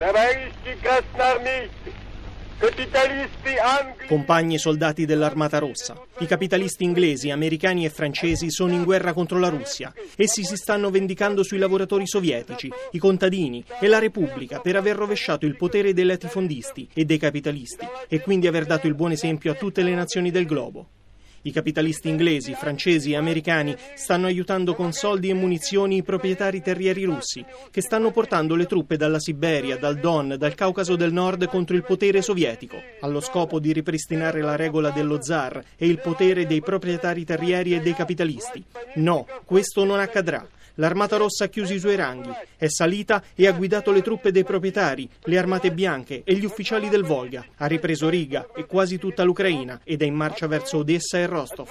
Compagni e soldati dell'Armata Rossa, i capitalisti inglesi, americani e francesi sono in guerra contro la Russia. Essi si stanno vendicando sui lavoratori sovietici, i contadini e la Repubblica per aver rovesciato il potere dei latifondisti e dei capitalisti e quindi aver dato il buon esempio a tutte le nazioni del globo. I capitalisti inglesi, francesi e americani stanno aiutando con soldi e munizioni i proprietari terrieri russi, che stanno portando le truppe dalla Siberia, dal Don, dal Caucaso del Nord contro il potere sovietico, allo scopo di ripristinare la regola dello zar e il potere dei proprietari terrieri e dei capitalisti. No, questo non accadrà. L'Armata Rossa ha chiuso i suoi ranghi, è salita e ha guidato le truppe dei proprietari, le armate bianche e gli ufficiali del Volga. Ha ripreso Riga e quasi tutta l'Ucraina ed è in marcia verso Odessa e Rostov.